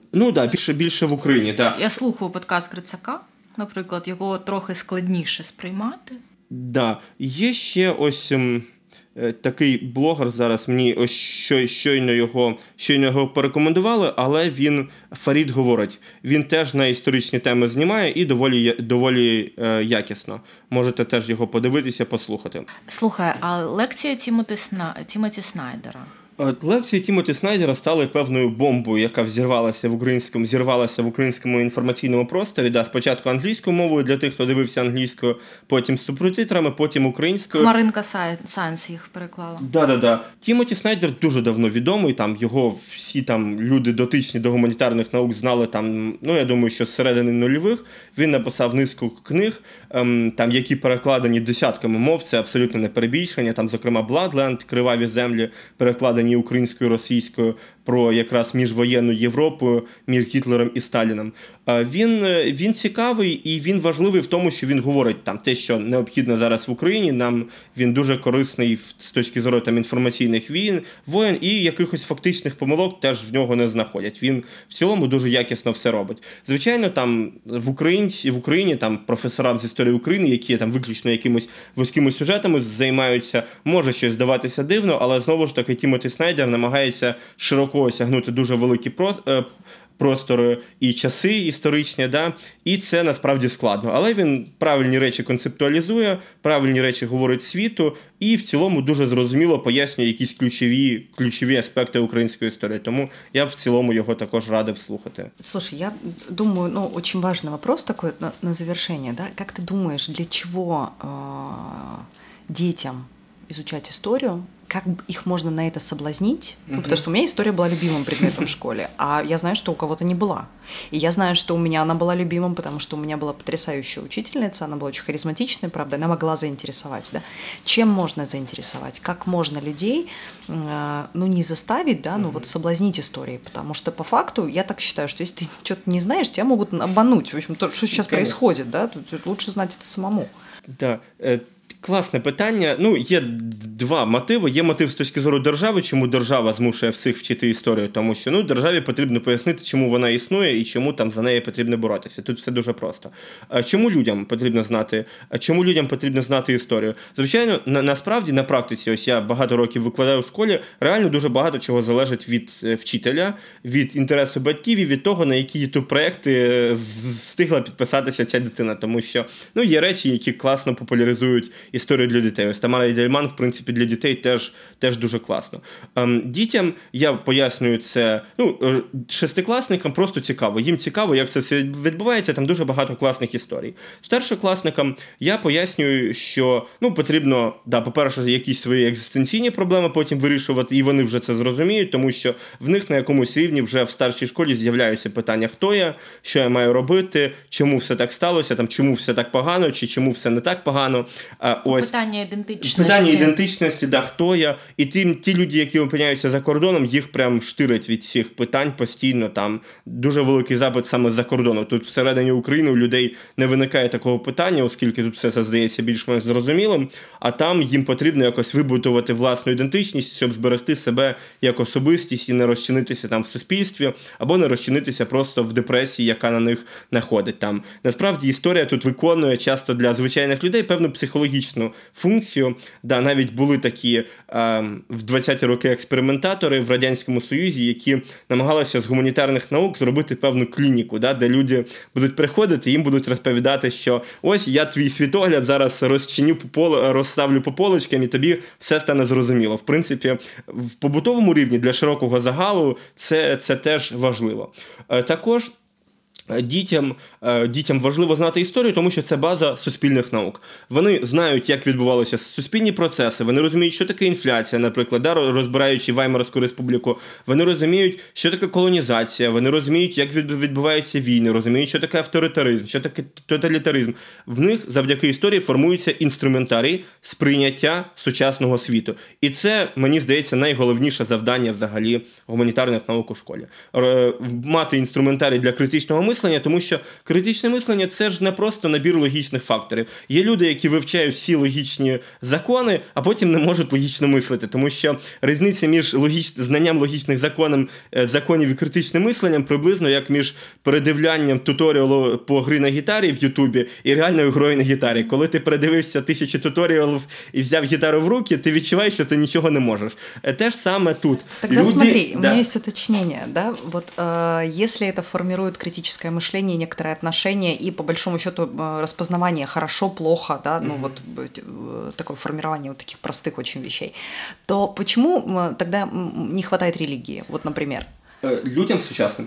Ну так, більше в Україні, так. Я слухаю подкаст Грицака, наприклад, його трохи складніше сприймати. Да. Є ще ось такий блогер зараз, мені ось щойно його порекомендували, але він, Фарід говорить, він теж на історичні теми знімає і доволі якісно. Можете теж його подивитися, послухати. Слухай, а лекція Тімоті Снайдера? Лекції Тімоті Снайдера стали певною бомбою, яка зірвалася в українському інформаційному просторі. Да, спочатку англійською мовою для тих, хто дивився англійською, потім з субтитрами, потім українською. Хмаринка Сайенс їх переклала. Да. Тімоті Снайдер дуже давно відомий, там його всі там люди дотичні до гуманітарних наук знали там, я думаю, що з середини нульових. Він написав низку книг, там, які перекладені десятками мов, це абсолютно не перебільшення, там, зокрема, Bloodland, Криваві землі, перекладені українською, російською, про якраз міжвоєнну Європу, між Гітлером і Сталіном. Він цікавий і він важливий в тому, що він говорить там те, що необхідно зараз в Україні. Нам він дуже корисний з точки зору там інформаційних воєн і якихось фактичних помилок теж в нього не знаходять. Він в цілому дуже якісно все робить. Звичайно, там в Україні там професорам з історії України, які там виключно якимось вузькими сюжетами займаються, може щось здаватися дивно, але знову ж таки Тімоті Снайдер намагається широко осягнути дуже великі простори і часи історичні, да? І це насправді складно. Але він правильні речі концептуалізує, правильні речі говорить світу і в цілому дуже зрозуміло пояснює якісь ключові аспекти української історії. Тому я в цілому його також радив слухати. Слушай, я думаю, очень важный вопрос такой на завершение, да? Как ты думаешь, для чего детям изучать историю? Как их можно на это соблазнить? Потому что у меня история была любимым предметом в школе, а я знаю, что у кого-то не была. И я знаю, что у меня она была любимым, потому что у меня была потрясающая учительница, она была очень харизматичная, правда, она могла заинтересовать, да? Чем можно заинтересовать? Как можно людей, не заставить, да, вот соблазнить историей? Потому что по факту я так считаю, что если ты что-то не знаешь, тебя могут обмануть. В общем, то, что сейчас происходит, да, тут лучше знать это самому. Да. Класне питання. Є два мотиви. Є мотив з точки зору держави, чому держава змушує всіх вчити історію, тому що державі потрібно пояснити, чому вона існує і чому там за неї потрібно боротися. Тут все дуже просто. Чому людям потрібно знати історію? Звичайно, насправді, на практиці, ось я багато років викладаю в школі, реально дуже багато чого залежить від вчителя, від інтересу батьків і від того, на які YouTube-проекти встигла підписатися ця дитина. Тому що є речі, які класно популяризують історію для дітей. Ось Тамара Ідельман, в принципі, для дітей теж дуже класно. Дітям, я пояснюю це, шестикласникам просто цікаво. Їм цікаво, як це все відбувається, там дуже багато класних історій. Старшокласникам я пояснюю, що потрібно, по-перше, якісь свої екзистенційні проблеми потім вирішувати, і вони вже це зрозуміють, тому що в них на якомусь рівні вже в старшій школі з'являються питання, хто я, що я маю робити, чому все так сталося, там, чому все так погано, чи чому все не так погано. Питання ідентичності, хто я. І ті люди, які опиняються за кордоном, їх прям штирить від всіх питань постійно. Там дуже великий запит саме з-за кордону. Тут всередині України у людей не виникає такого питання, оскільки тут все це здається більш-менш зрозумілим, а там їм потрібно якось вибудувати власну ідентичність, щоб зберегти себе як особистість і не розчинитися там в суспільстві, або не розчинитися просто в депресії, яка на них находить. Там насправді історія тут виконує часто для звичайних людей певну психологічну функцію. Да, навіть були такі в 20-ті роки експериментатори в Радянському Союзі, які намагалися з гуманітарних наук зробити певну клініку, да, де люди будуть приходити, їм будуть розповідати, що ось я твій світогляд зараз розставлю по полочкам і тобі все стане зрозуміло. В принципі, в побутовому рівні для широкого загалу це теж важливо. Також дітям важливо знати історію, тому що це база суспільних наук. Вони знають, як відбувалися суспільні процеси, вони розуміють, що таке інфляція, наприклад, розбираючи Ваймарську республіку, вони розуміють, що таке колонізація, вони розуміють, як відбуваються війни, розуміють, що таке авторитаризм, що таке тоталітаризм. В них завдяки історії формується інструментарій сприйняття сучасного світу. І це, мені здається, найголовніше завдання взагалі гуманітарних наук у школі. Мати інструментарій для критичного мислення, мислення, тому що критичне мислення – це ж не просто набір логічних факторів. Є люди, які вивчають всі логічні закони, а потім не можуть логічно мислити, тому що різниця між знанням логічних законів і критичним мисленням приблизно як між передивлянням туторіалу по грі на гітарі в Ютубі і реальною грою на гітарі. Коли ти передивився 1000 туторіалів і взяв гітару в руки, ти відчуваєш, що ти нічого не можешь. Те же самое тут. Тогда смотри, у меня есть уточнение, да, вот если это формирует критическое мышление, некоторые отношения и по большому счету распознавание хорошо, плохо, да, ну вот такое формирование вот таких простых очень вещей, то почему тогда не хватает религии, вот, например? Людям сучасним.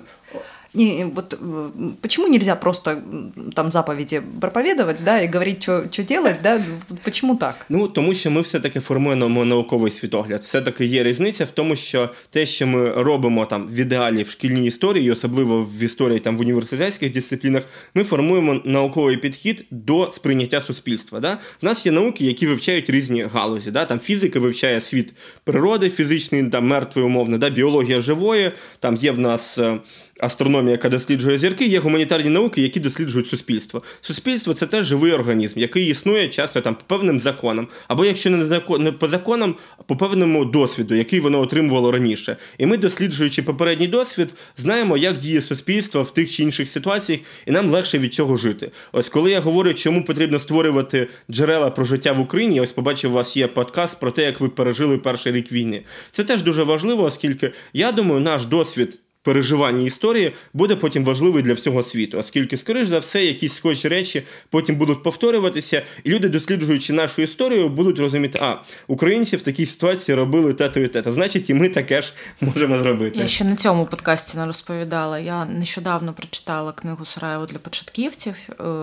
Вот почему нельзя просто там заповеди проповедовать, да, и говорить, что делать, да? Почему так? Ну, тому що ми все-таки формуємо науковий світогляд. Все-таки є різниця в тому, що те, що ми робимо там в ідеалі в шкільній історії, особливо в історії там в університетських дисциплінах, ми формуємо науковий підхід до сприйняття суспільства. Да? В нас є науки, які вивчають різні галузі. Да? Там фізика вивчає світ природи, фізичний, там мертвий умовно, да? Біологія живої, там є в нас астрономія, яка досліджує зірки, є гуманітарні науки, які досліджують суспільство. Суспільство – це теж живий організм, який існує часто там по певним законам, або якщо не по законам, по певному досвіду, який воно отримувало раніше. І ми, досліджуючи попередній досвід, знаємо, як діє суспільство в тих чи інших ситуаціях, і нам легше від чого жити. Ось коли я говорю, чому потрібно створювати джерела про життя в Україні, ось побачив, у вас є подкаст про те, як ви пережили перший рік війни. Це теж дуже важливо, оскільки, я думаю, наш досвід переживання історії буде потім важливий для всього світу, оскільки, скоріш за все, якісь схожі речі потім будуть повторюватися, і люди, досліджуючи нашу історію, будуть розуміти, українці в такій ситуації робили те-то і те-то, значить, і ми таке ж можемо зробити. Я ще на цьому подкасті не розповідала. Я нещодавно прочитала книгу «Сараєво для початківців»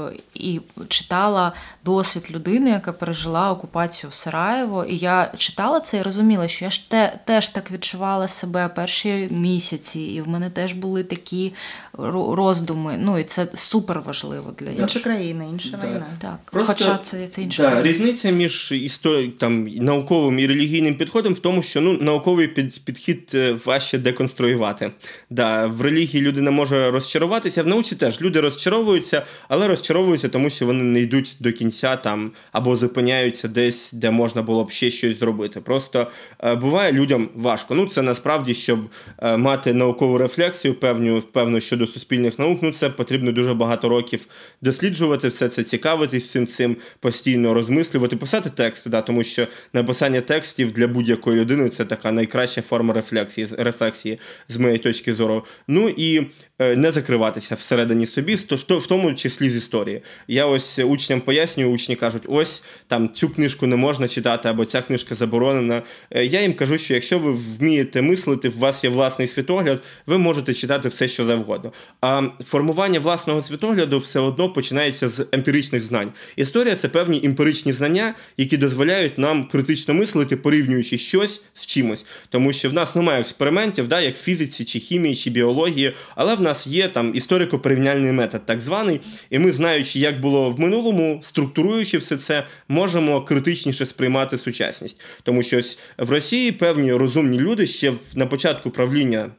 і читала досвід людини, яка пережила окупацію в Сараєво, і я читала це і розуміла, що я ж теж так відчувала себе перші місяці, і в мене теж були такі роздуми. Ну, і це супер важливо для інших. Інша країна, інша війна. Так, просто, хоча це інша країна. Різниця між науковим і релігійним підходом в тому, що науковий підхід важче деконструювати. В релігії людина може розчаруватися, в науці теж люди розчаровуються, але розчаровуються, тому що вони не йдуть до кінця там, або зупиняються десь, де можна було б ще щось зробити. Просто буває людям важко. Ну, це насправді, щоб мати наукову рефлексію певну щодо суспільних наук, це потрібно дуже багато років досліджувати все це, цікавитись всім цим, постійно розмислювати, писати тексти, тому що написання текстів для будь-якої людини – це така найкраща форма рефлексії з моєї точки зору. Ну і не закриватися всередині собі, в тому числі з історії. Я ось учням пояснюю, учні кажуть, ось там цю книжку не можна читати, або ця книжка заборонена. Я їм кажу, що якщо ви вмієте мислити, у вас є власний світогляд, ви можете читати все, що завгодно. А формування власного світогляду все одно починається з емпіричних знань. Історія – це певні емпіричні знання, які дозволяють нам критично мислити, порівнюючи щось з чимось. Тому що в нас немає експериментів, як в фізиці, чи хімії, чи біології, але в нас є там історико-порівняльний метод, так званий, і ми, знаючи, як було в минулому, структуруючи все це, можемо критичніше сприймати сучасність. Тому що ось в Росії певні розумні люди ще на початку правління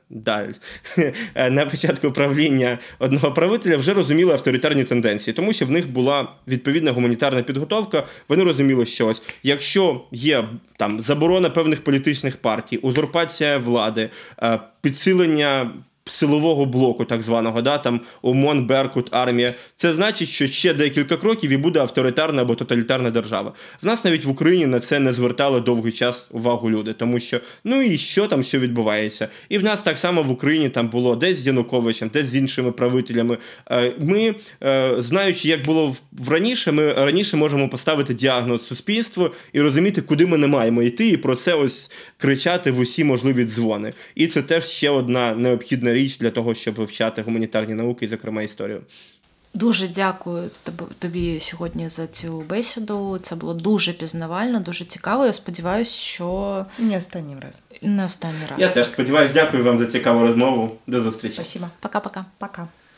одного правителя вже розуміли авторитарні тенденції, тому що в них була відповідна гуманітарна підготовка, вони розуміли, що ось, якщо є там заборона певних політичних партій, узурпація влади, підсилення силового блоку, так званого, там ОМОН, Беркут, армія. Це значить, що ще декілька кроків і буде авторитарна або тоталітарна держава. В нас навіть в Україні на це не звертали довгий час увагу люди, тому що, і що там, що відбувається. І в нас так само в Україні там було десь з Януковичем, десь з іншими правителями. Ми, знаючи, як було раніше, ми раніше можемо поставити діагноз суспільству і розуміти, куди ми не маємо йти, і про це ось кричати в усі можливі дзвони. І це теж ще одна необхідна річ для того, щоб вивчати гуманітарні науки, і, зокрема, історію. Дуже дякую тобі сьогодні за цю бесіду. Це було дуже пізнавально, дуже цікаво. Я сподіваюся, що... Не останній раз. Не останній раз. Я теж сподіваюся. Дякую вам за цікаву розмову. До зустрічі. Спасибо. Пока-пока. Пока.